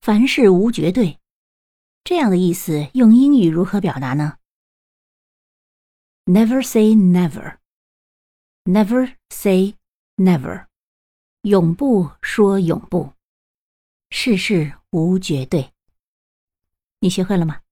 凡事无绝对。这样的意思用英语如何表达呢？ Never say never. Never say never. 永不说永不。事事无绝对。你学会了吗？